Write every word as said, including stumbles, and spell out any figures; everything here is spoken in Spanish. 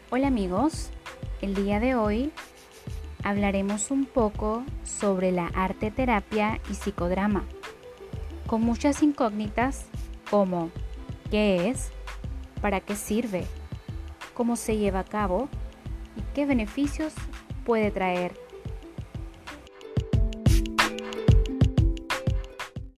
Hola amigos, el día de hoy hablaremos un poco sobre la arte terapia y psicodrama, con muchas incógnitas como qué es, para qué sirve, cómo se lleva a cabo y qué beneficios puede traer